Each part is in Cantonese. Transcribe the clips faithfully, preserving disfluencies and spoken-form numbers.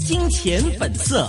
金钱本色。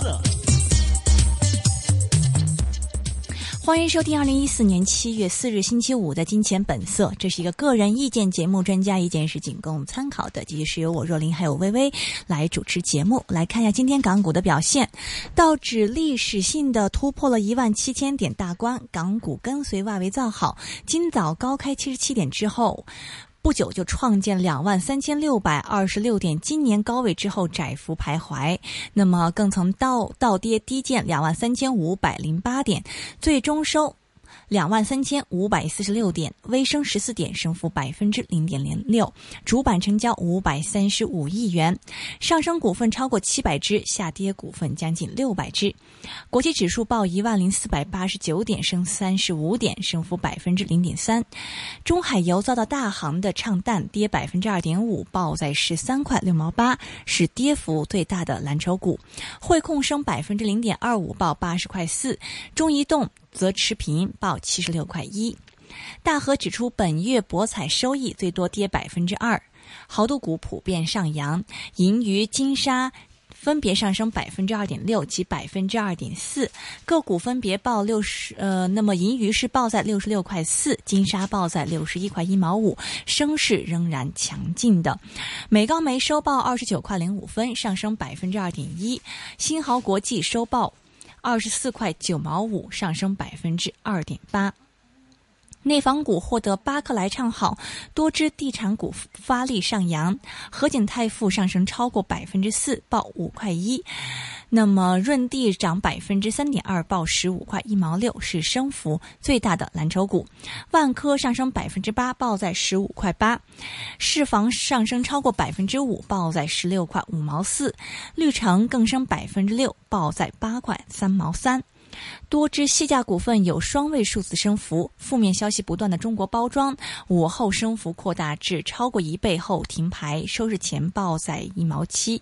欢迎收听二零一四年七月四日星期五的金钱本色，这是一个个人意见节目，专家意见是仅供参考的。继续是由我若琳还有微微来主持节目。来看一下今天港股的表现，道指历史性的突破了一万七千点大关，港股跟随外围造好，今早高开七十七点之后，不久就创建两万三千六百二十六点，今年高位之后窄幅徘徊，那么更曾倒倒跌低见两万三千五百零八点，最终收两万三千五百四十六点，微升十四点，升幅百分之零点零六，主板成交五百三十五亿元，上升股份超过七百只，下跌股份将近六百只。国际指数报一万零四百八十九点，升三十五点，升幅百分之零点三。中海油遭到大行的唱淡，跌百分之二点五，报在十三块六毛八，是跌幅最大的蓝筹股。汇控升百分之零点二五，报八十块四。中移动则持平，报七十六块一。大和指出，本月博彩收益最多跌百分之二，豪赌股普遍上扬，银娱、金沙分别上升百分之二点六及百分之二点四，个股分别报六十呃，那么银娱是报在六十六块四，金沙报在六十一块一毛五，升势仍然强劲的。美高梅收报二十九块零五分，上升百分之二点一，新豪国际收报二十四块九毛五，上升百分之二点八。内房股获得巴克莱唱好，多只地产股发力上扬，和景泰富上升超过百分之四，报五块一。那么润地涨百分之三点二，报十五块一毛六，是升幅最大的蓝筹股。万科上升百分之八，报在十五块八。世房上升超过百分之五，报在十六块五毛四。绿城更升百分之六，报在八块三毛三。多只细价股份有双位数字升幅，负面消息不断的中国包装午后升幅扩大至超过一倍后停牌，收市前报在一毛七。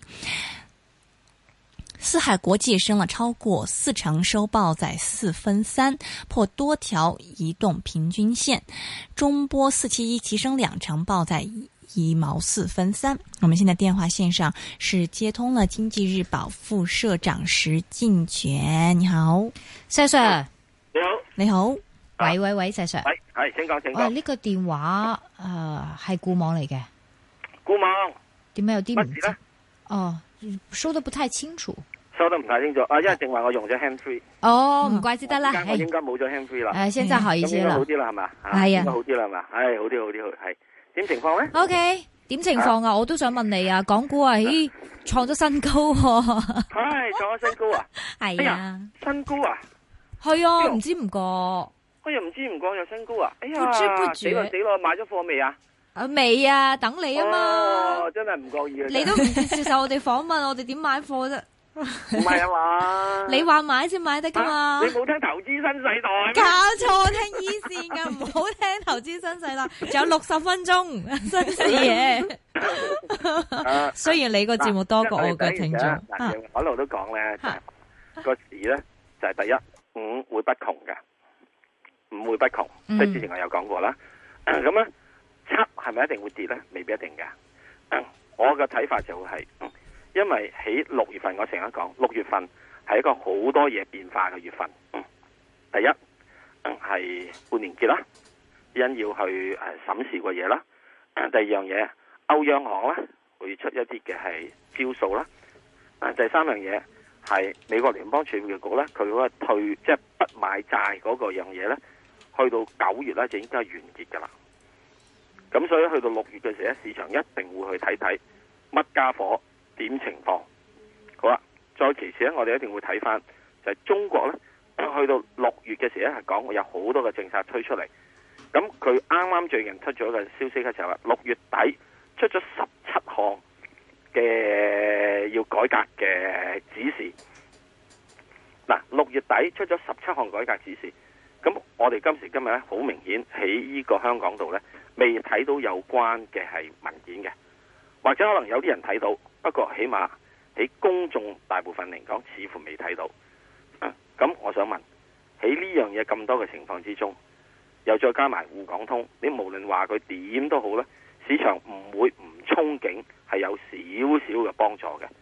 四海国际升了超过四成，收报在四分三，破多条移动平均线。中波四七一提升两成，报在一毛四分三。我们现在电话线上是接通了经济日报副社長石鏡泉，你好， 石 Sir， 你好， 你好，喂喂喂，石 Sir， 係係，請講請講。 哦，呢、這個電話誒係固網嚟嘅， 固網點解有啲唔知？哦，收得不太清楚。 收得唔太清楚啊，因為正話我用咗 hand free。 哦，唔怪之得啦， 我應該冇咗 hand free 啦。 誒，現在好一些啦， 好啲啦係嘛？ 係啊， 應該好啲啦係嘛？係好啲好啲係。點情況咧 ？O K， 點情況啊？我都想問你啊，港股啊，咦，創咗新高喎。 係創咗新高啊！ 係啊， 新高啊！ 係啊，唔知唔覺。 哎呀，唔知唔覺有新高啊！哎呀， 不知不覺死咯死咯，買咗貨未啊？ 啊未啊，等你啊嘛。 哦，真係唔覺意啊！ 你都唔接受我哋訪問，我哋點買貨啫？ 唔係啊嘛， 你話買先買得噶嘛、 啊？你冇聽投資新世代？ 搞錯，聽一線噶，唔好聽投資新世代。仲有六十分鐘新視野。雖然你個節目多過我嘅聽眾， 我一路都講咧，個市咧就係第一五會不窮嘅，五會不窮，即係之前我有講過啦。咁咧七係咪一定會跌咧？未必一定嘅。我嘅睇法就係。因為喺六月份，我成日講六月份係一個好多嘢變化嘅月份。嗯、第一係半年結啦，因要去誒審視個嘢啦。第二樣嘢，歐央行咧會出一啲嘅係招數啦。第三樣嘢係美國聯邦儲備局咧，佢嗰個退即係、就是、不買債嗰個樣嘢咧，去到九月咧就應該係完結噶啦。咁所以去到六月嘅時候，市場一定會去睇睇乜家伙。點情況好啦，再其次咧，我哋一定會睇翻就係、是、中國咧，去到六月嘅時候咧係講會有好多嘅政策推出嚟。咁佢啱啱最近出咗嘅消息嘅時候話，六月底出咗十七項嘅要改革嘅指示。嗱，六月底出咗十七項改革指示，咁我哋今時今日咧好明顯喺呢個香港度咧未睇到有關嘅係文件嘅，或者可能有啲人睇到。不過起碼喺公眾大部分嚟講，似乎未睇到。咁、啊、我想問，喺呢樣嘢咁多嘅情況之中，又再加埋滬港通，你無論話佢點都好咧，市場唔會唔憧憬係有少少嘅幫助嘅。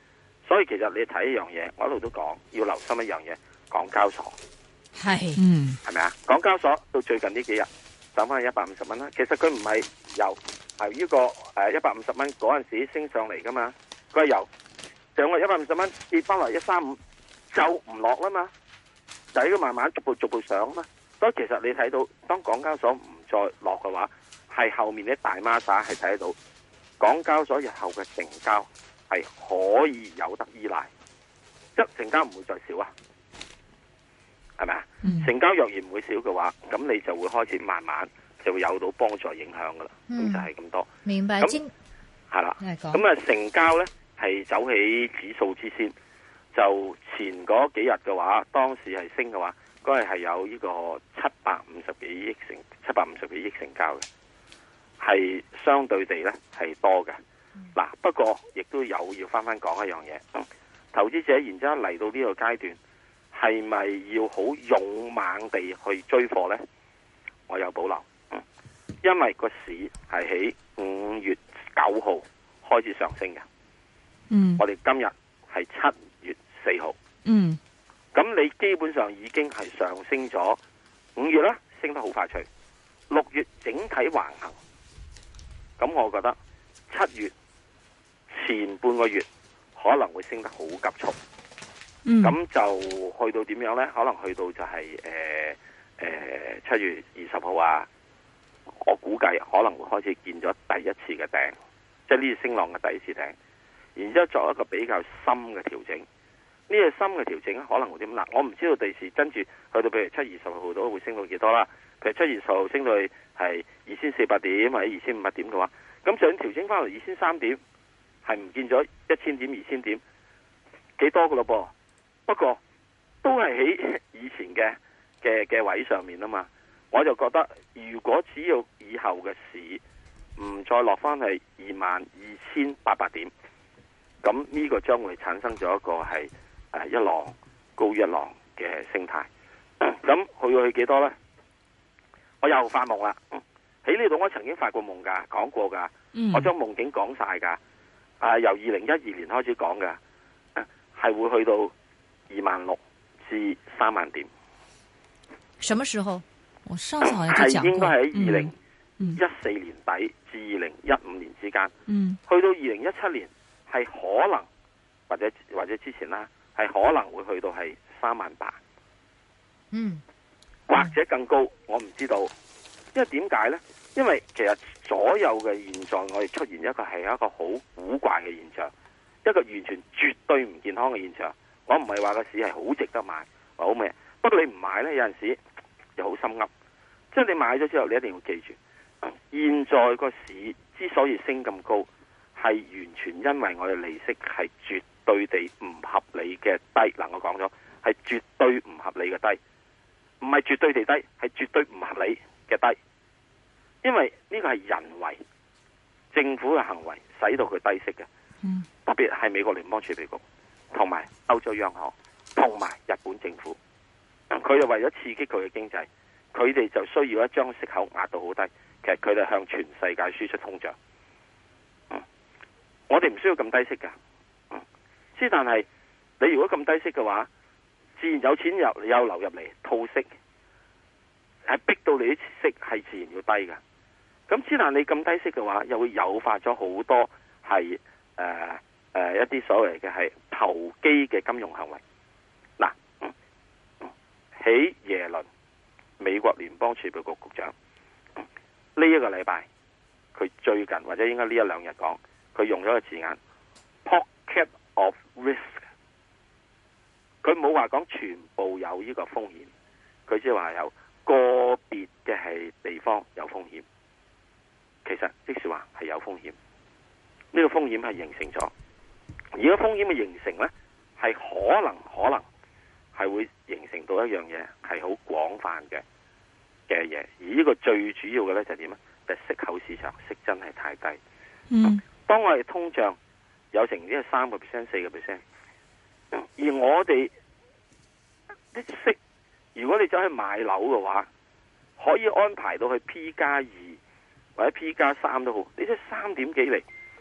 所以其實你睇一樣嘢，我一路都講要留心一樣嘢，港交所係， 嗯， 係咪啊？港交所到最近呢幾日走翻去一百五十蚊啦。其實佢唔係由係呢個誒一百五十蚊嗰陣時升上嚟噶嘛，佢係由上個一百五十蚊跌翻嚟一三五就唔落啦嘛，就係咁慢慢逐步逐步上啊嘛。所以其實你睇到當港交所唔再落嘅話，係後面啲大孖沙係睇得到港交所日後嘅成交係可以有得依賴，即成交唔會再少啊，係咪啊？嗯、成交若然唔會少嘅話，咁你就會開始慢慢就會有到幫助影響噶啦。咁、嗯、就係咁多。 明白。 咁係啦。咁啊，成交咧係走起指數之先，就前嗰幾日嘅話，當時係升嘅話，嗰日係有呢個七百五十幾億成七百五十幾億成交嘅，係相對地咧係多嘅。嗱、嗯，不過亦都有要翻翻講一樣嘢，嗯，投資者然之後嚟到呢個階段，係咪要好勇猛地去追貨呢？我有保留，嗯，因為個市係喺五月九號開始上升嘅，嗯，我哋今日係七月四號，嗯，咁你基本上已經係上升咗五月啦，升得好快脆，六月整體橫行，咁我覺得七月前半個月可能會升得好急促，咁、嗯、就去到點樣呢？可能去到就係誒誒七月二十號啊，我估計可能會開始見咗第一次嘅頂，即係呢次升浪嘅第一次頂，然之後作一個比較深嘅調整。呢、這個深嘅調整可能會點？嗱，我唔知道第時跟住去到譬如七月二十號都會升到幾多啦。譬如七月二十號升到去係二千四百點或者二千五百點嘅話，咁就算調整翻嚟二千三點。係唔見咗一千點、二千點，幾多噶咯噃？不過都係喺以前嘅嘅嘅位上面啊嘛。我就覺得，如果只要以後嘅市唔再落翻去二萬二千八百點，咁呢個將會產生咗一個係誒一浪高一浪嘅升態。咁去到去幾多呢？我又發夢啦！喺呢度我曾經發過夢噶，講過噶，嗯、我將夢境講晒噶。啊！由二零一二年開始講嘅，係會去到二萬六至三萬點。 什麼時候？ 我上次好像就講過， 係應該喺二零一四年底至二零一五年之間。嗯，去到二零一七年係可能或者或者之前啦，係可能會去到係三萬八。 嗯， 或者更高，我唔知道。因為點解呢？因為其實所有嘅現象，我哋出現一個係一個好古怪嘅現象，一個完全絕對唔健康嘅現象。我唔係話個市係好值得買，或好咩？不過你唔買呢，有陣時又好心噏。即係你買咗之後，你一定要記住，現在個市之所以升咁高，係完全因為我哋利息係絕對地唔合理嘅低。嗱，我講咗係絕對唔合理嘅低，唔係絕對地低，係絕對唔合理嘅低。因為呢個係人為政府嘅行為使到佢低息嘅，嗯、特別係美國聯邦儲備局同埋歐洲央行同埋日本政府，佢哋為咗刺激佢嘅經濟，佢哋就需要一將息口壓到好低。其實佢哋向全世界輸出通脹，嗯、我哋唔需要咁低息噶，之、嗯、但係你如果咁低息嘅話，自然有錢又又流入嚟套息，係逼到你啲息係自然要低噶。咁之但你咁低息嘅話，又會誘發咗好多係誒誒一啲所謂嘅係投機嘅金融行為。嗱，喺、嗯、耶倫美國聯邦儲備局局長呢一、嗯這個禮拜，佢最近或者應該呢一兩日講，佢用咗個字眼 pocket of risk，佢冇話講全部有呢個風險，佢只係話有個別嘅係地方有風險。其實即是話係有風險，呢、這個風險係形成咗，而個風險嘅形成呢，係可能可能係會形成到一樣嘢係好廣泛嘅嘅嘢，而呢個最主要嘅呢，就係點咧？就係、息口市場息真係太低。嗯，當我哋通脹有成呢個三個 percent、四個 percent，而我哋啲息，如果你走去買樓嘅話，可以安排到去 P 加二。或者 P 加三都好，你即係三點幾厘，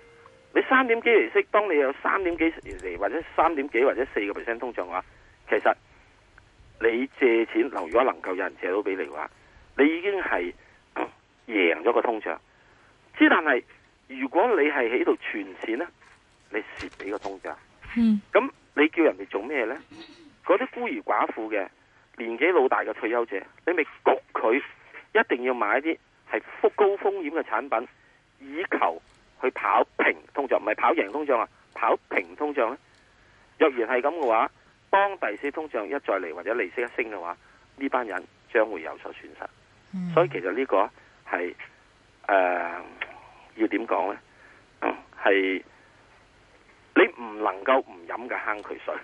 你三點幾厘息，當你有三點幾厘或者三點幾或者四個 percent 通脹嘅話，其實你借錢，如果能夠有人借到俾你嘅話，你已經係贏咗個通脹。之但係如果你係喺度存錢咧，你蝕俾個通脹。 嗯， 咁你叫人哋做咩咧？嗰啲孤兒寡婦嘅年紀老大嘅退休者，你咪焗佢一定要買啲係高風險嘅產品，以求去跑平通脹，唔係跑贏通脹啊，跑平通脹咧。若然係咁嘅話，當第四通脹一再嚟或者利息一升嘅話，呢班人將會有所損失。嗯、所以其實呢個係誒、呃、要點講咧？係、嗯、你唔能夠唔飲嘅坑渠水。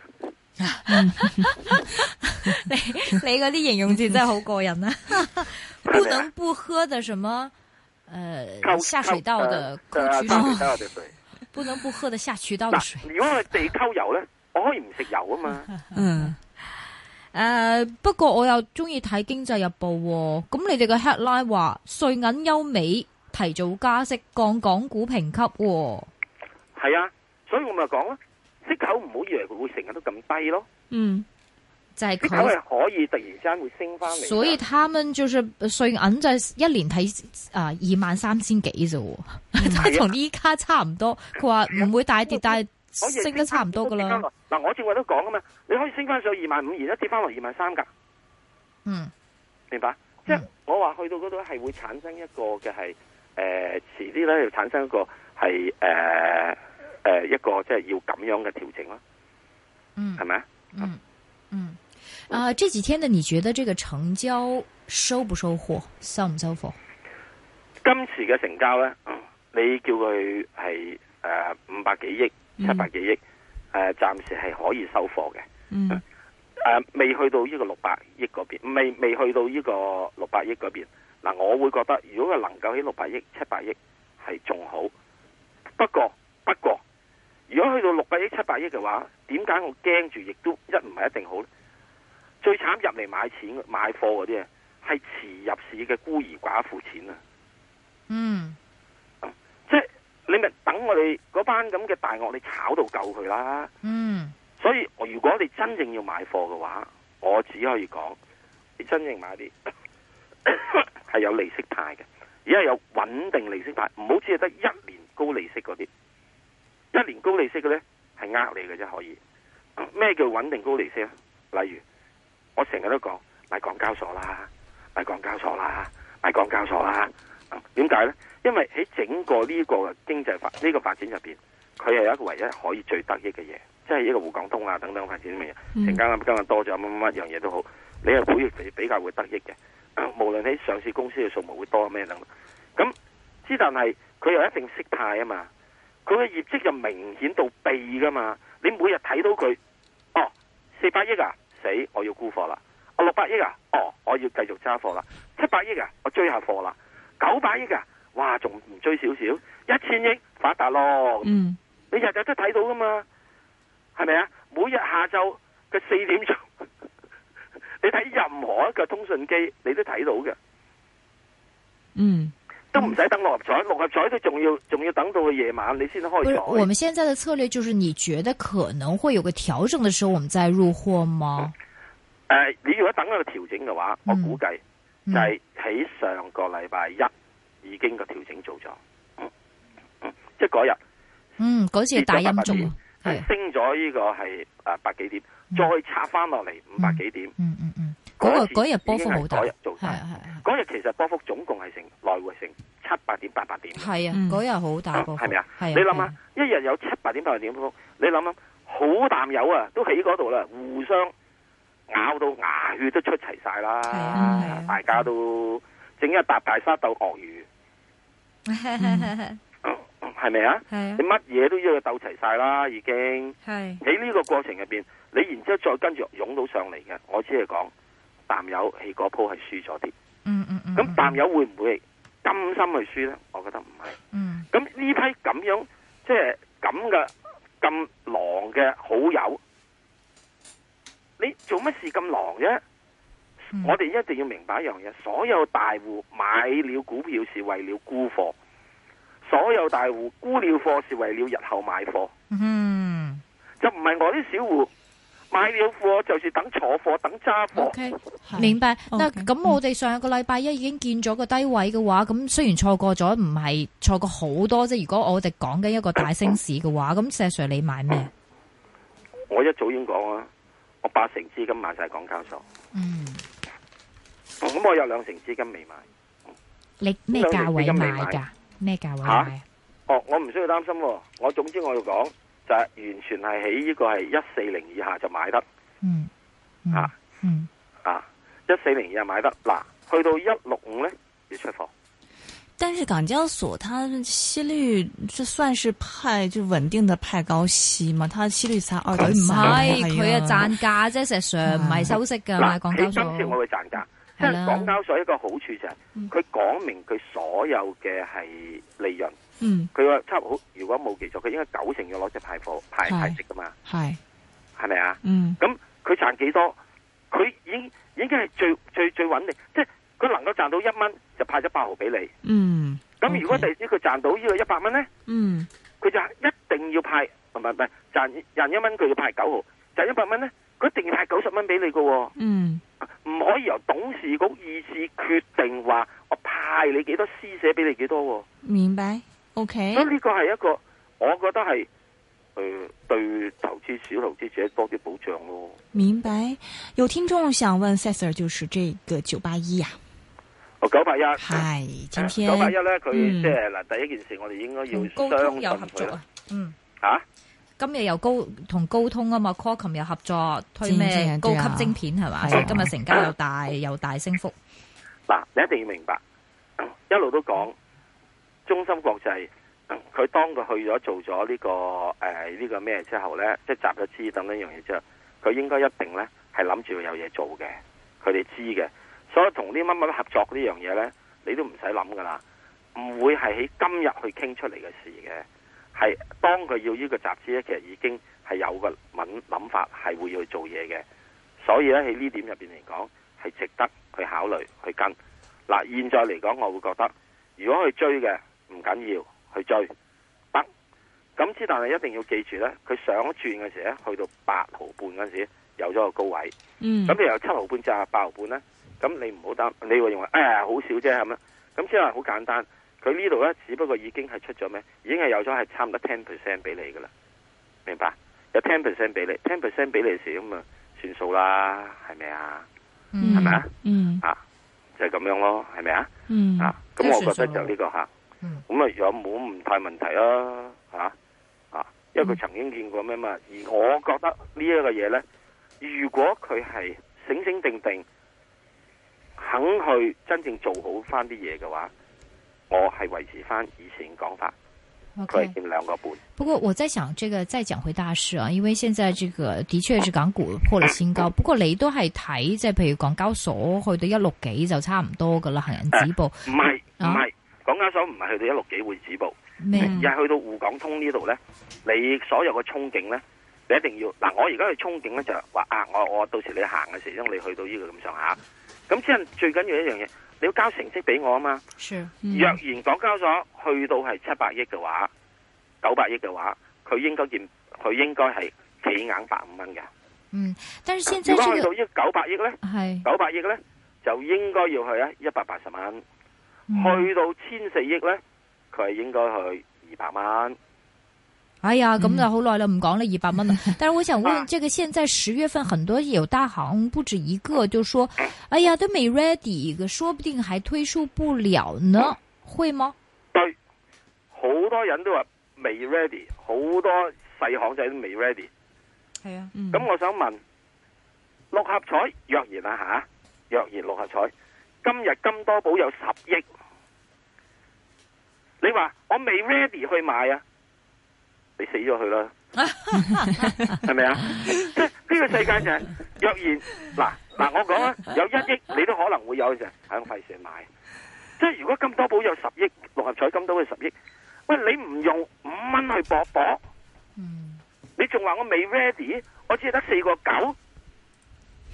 你你嗰啲形容詞真係好過癮啊！不能不喝的什麼，呃，下水道的溝渠水，不能不喝的下渠道的水。 如果係地溝油咧，我可以唔食油啊嘛。 嗯。誒、呃，不過我又中意睇經濟日報、哦，咁你哋嘅 headline 話瑞銀優美提早加息，降港股評級、哦。 係啊，所以我咪講咯，息口唔好以為佢會成日都咁低咯。 嗯，就係、是、 佢係可以突然之間會升翻嚟。 所以他們就是瑞銀就一年睇啊二萬三千幾啫，即係同依家差唔多。佢話唔會大跌，但係升得差唔多噶啦。 嗱，我正話都講啊嘛，你可以升翻上二萬五，然後跌翻落二萬三噶。 嗯， 明白？嗯、即係我話去到嗰度係會產生一個嘅係誒，遲啲咧要產生一個係誒誒一個即係要咁樣嘅調整咯。 嗯， 係咪啊？ 嗯嗯，啊、呃，這幾天呢？你覺得這個成交收不收貨，收唔收貨？ 今次嘅成交咧、嗯，你叫佢係誒五百幾億、七百幾億，誒、呃，暫時係可以收貨嘅。嗯。誒、呃，未去到呢個六百億嗰邊，未未去到呢個六百億嗰邊。嗱、呃，我會覺得如果佢能夠喺六百億、七百億係仲好。不過，不過，如果去到六百億、七百億嘅話，點解我驚住？亦都一唔係一定好咧。最慘入嚟買錢買貨嗰啲啊，係遲入市嘅孤兒寡婦錢啊。 嗯， 即係你咪等我哋嗰班咁嘅大鱷，你炒到夠佢啦。嗯，所以如果你真正要買貨嘅話，我只可以講，你真正買啲係有利息派嘅，而家有穩定利息派，唔好只係得一年高利息嗰啲。一年高利息嘅咧係呃你嘅啫，可以。咩叫穩定高利息啊？例如我成日都講買港交所啦，買港交所啦，買港交所啦。點解咧？因為喺整個呢個經濟發呢、這個發展入邊，佢係一個唯一可以最得益嘅嘢，即係一個滬港通啊等等發展嘅嘢，成間咁今日多咗乜乜乜樣嘢都好，你係會比較會得益嘅。無論喺上市公司嘅數目會多咩等等，咁之但係佢又一定息派啊嘛，佢嘅業績就明顯到痹噶嘛，你每日睇到佢，哦四百億啊，死我要沽貨啦，哦六百億啊，哦我要繼續揸貨啦，七百億啊，我追下貨啦。九百億啊！哇，仲唔追少少？一千億發達咯！嗯，你日日都睇到噶嘛？係咪啊？每日下晝嘅四點鐘，你睇任何一個通訊機，你都睇到嘅。嗯，都唔使等六合彩，六合彩都仲要仲要等到去夜晚你先開彩。 我們現在的策略就是，你覺得可能會有個調整的時候，我們再入貨嗎？ 誒、嗯呃，你如果等一個調整嘅話，我估計。就係喺上個禮拜一已經個調整做咗，嗯嗯，即係嗰日， 嗯，嗰次係大陰燭， 係升咗呢個係誒百幾點，嗯、再插翻落嚟五百幾點， 嗯嗯嗯，嗰、嗯嗯那個日波幅好大， 嗰日做晒，嗰日其實波幅總共係成來回成七百點八百點，係啊， 嗰日好大波幅，係咪啊？ 你諗下，一日有七百點八百點波幅，你諗下，好淡友啊，都喺嗰度啦，互相。咬到牙血都出齊晒啦，啊、大家都整一笪大沙鬥鱷魚，係咪啊？你乜嘢都要鬥齊晒啦，已經喺呢個過程入邊，你然之後再跟住湧到上嚟嘅，我只係講淡友喺嗰鋪係輸咗啲，嗯嗯嗯，咁淡友會唔會甘心去輸咧？我覺得唔係，嗯，咁呢批咁樣即係咁嘅咁狼嘅好友。你做乜事咁狼啫？嗯、我哋一定要明白一樣嘢，所有大戶買了股票是為了沽貨， 所有大戶沽了貨是為了日後買貨， 嗯， 就唔係我啲小戶買了貨就是等坐貨等揸貨。 OK， 明白。那咁我哋上個禮拜一已經見咗個低位嘅話，咁雖然錯過咗，唔係錯過好多啫。如果我哋講緊一個大升市嘅話，咁石 Sir 你買咩？ 我一早已經講啦，我八成資金買晒港交所。 嗯， 咁我有兩成資金未買。 你咩價位買噶？咩價位買啊？ 哦，我唔需要擔心。我總之我要講就係完全係喺呢個係一四零以下就買得。 嗯，嗯啊， 嗯啊，一四零以下買得。嗱，去到一六五咧要出貨。 但是港交所它息率這算是派就穩定的派高息嘛？它息率才二點三， 唔係佢啊賺價啫，石 Sir 唔係收息噶買港交所。 今次我會賺價，即係港交所一個好處就係佢講明佢所有嘅係利潤。嗯，佢話差唔多，如果冇記錯，佢應該九成要攞只派貨派派息噶嘛。係係咪啊？嗯，咁佢賺幾多？佢已經已經係最最最穩定，即係。佢能夠賺到一蚊就派咗八毫俾你。嗯，咁如果第時佢賺到呢個一百蚊咧，嗯，佢就一定要派，唔係唔係賺賺一蚊佢要派九毫，賺一百蚊咧，佢一定要派九十蚊俾你噶。嗯，唔可以由董事局意志決定話我派你幾多，施捨俾你幾多。 明白 ？OK。 咁呢個係一個，我覺得係誒、呃、對投資小投資者多啲保障咯。 明白。有聽眾想問 Sir， 就是這個九八一啊。 九八一係，今天九八一咧，佢即係嗱，第一件事我哋應該要高通有合作啊，嗯，吓、啊，今日又高同高通啊嘛 ，Qualcomm 又合作推咩高級晶片係嘛，所以今日成交又大又大升幅。 嗱，你一定要明白，一路都講中芯國際，佢當佢去咗做咗呢、這個誒呢、呃這個咩之後咧，即係集咗資等呢樣嘢之後，佢應該一定咧係諗住有嘢做嘅，佢哋知嘅。所以同啲乜乜合作呢樣嘢呢，你都唔使諗噶啦，唔會係喺今日去傾出嚟嘅事嘅，係當佢要呢個集資呢，其實已經係有個諗諗法係會要去做嘢嘅。所以咧喺呢點入邊嚟講，係值得去考慮去跟。嗱，現在嚟講，我會覺得如果去追嘅唔緊要，去追得。咁之但係一定要記住呢，佢上一轉嘅時咧，去到八毫半嗰陣時有咗個高位，嗯，咁你由七毫半至八毫半呢。咁你唔好擔，你會認為哎呀好少啫係咪？咁即係好簡單，佢呢度咧只不過已經係出咗咩？已經係有咗係差唔多 ten percent 俾你噶啦，明白？有 ten percent 俾你 ten percent 俾你時咁啊算數啦，係咪啊？係咪啊？嗯啊，就係、是、咁樣咯，係咪啊？嗯啊，咁我覺得就呢個吓，咁啊有冇唔太問題啊？吓啊，因為佢曾經見過咩嘛？而我覺得呢一個嘢咧，如果佢係醒醒定定。肯去真正做好翻啲嘢嘅話，我係維持翻以前講法，佢係見兩個半。 不過我在想，這個再講回大市啊，因為現在這個的確是港股破了新高。不過你都係睇，即係譬如港交所去到一六幾就差唔多噶啦，行人止步。 唔係唔係，港交所唔係去到一六幾會止步，咩？而係去到滬港通呢度咧，你所有嘅憧憬咧，你一定要嗱。我而家去憧憬咧就係話啊，我我到時你行嘅時候，你去到呢個咁上下。咁即係最緊要一樣嘢，你要交成績俾我啊嘛。Sure. 若然港交所去到係七百億嘅話，九百億嘅話，佢應該見，佢應該係企硬百五蚊嘅。嗯，但是現在、這個、如果去到呢九百億咧，係九百億咧，就應該要去啊一百八十蚊。去到千四億咧，佢係應該去二百蚊。 哎呀，咁就好耐啦，唔講啦，二百蚊啦。但是我想問，這個現在十月份很多有大行不止一個，就說，哎呀，都未 ready，說不定還推出不了呢，會嗎？ 對，好多人都話未 ready，好多細行仔都未 ready。係啊，咁、嗯、我想問，六合彩若然啊吓，若然六合彩今日金多寶有十億，你話我未 ready 去買啊？你死咗佢啦，係咪啊？即係呢個世界就係、是、若然嗱嗱，我講啊，有一億你都可能會有嘅，喺咁費事買。即係如果金多寶有十億，六合彩金多寶十億，喂，你唔用五蚊去搏搏，嗯，你仲話我未 ready，我只係得四個九，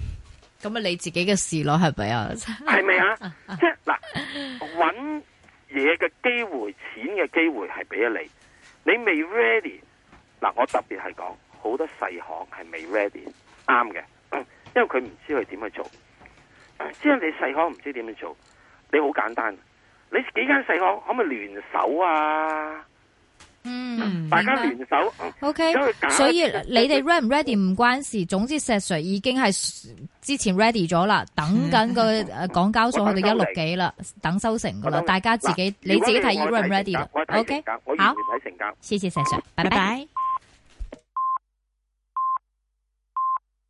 咁啊你自己嘅事咯，係咪啊？ 係咪啊？即係嗱，搵嘢嘅機會、錢嘅機會係俾咗你，你未 ready 嗱。我特別係講好多細行係未 ready， 啱嘅，因為佢唔知佢點去做。即係你細行唔知點樣做，你好簡單，你幾間細行可唔可以聯手啊？ 嗯， 大家聯手 ，OK。所以你哋 ready 唔 ready 唔關事，總之石 Sir 已經係之前 ready 咗啦，等緊個誒港交所去到一六幾啦，等收成噶啦，大家自己你自己睇 ready 唔 ready 啦。OK， 好， 我完全睇成交。 謝謝石 Sir，拜拜。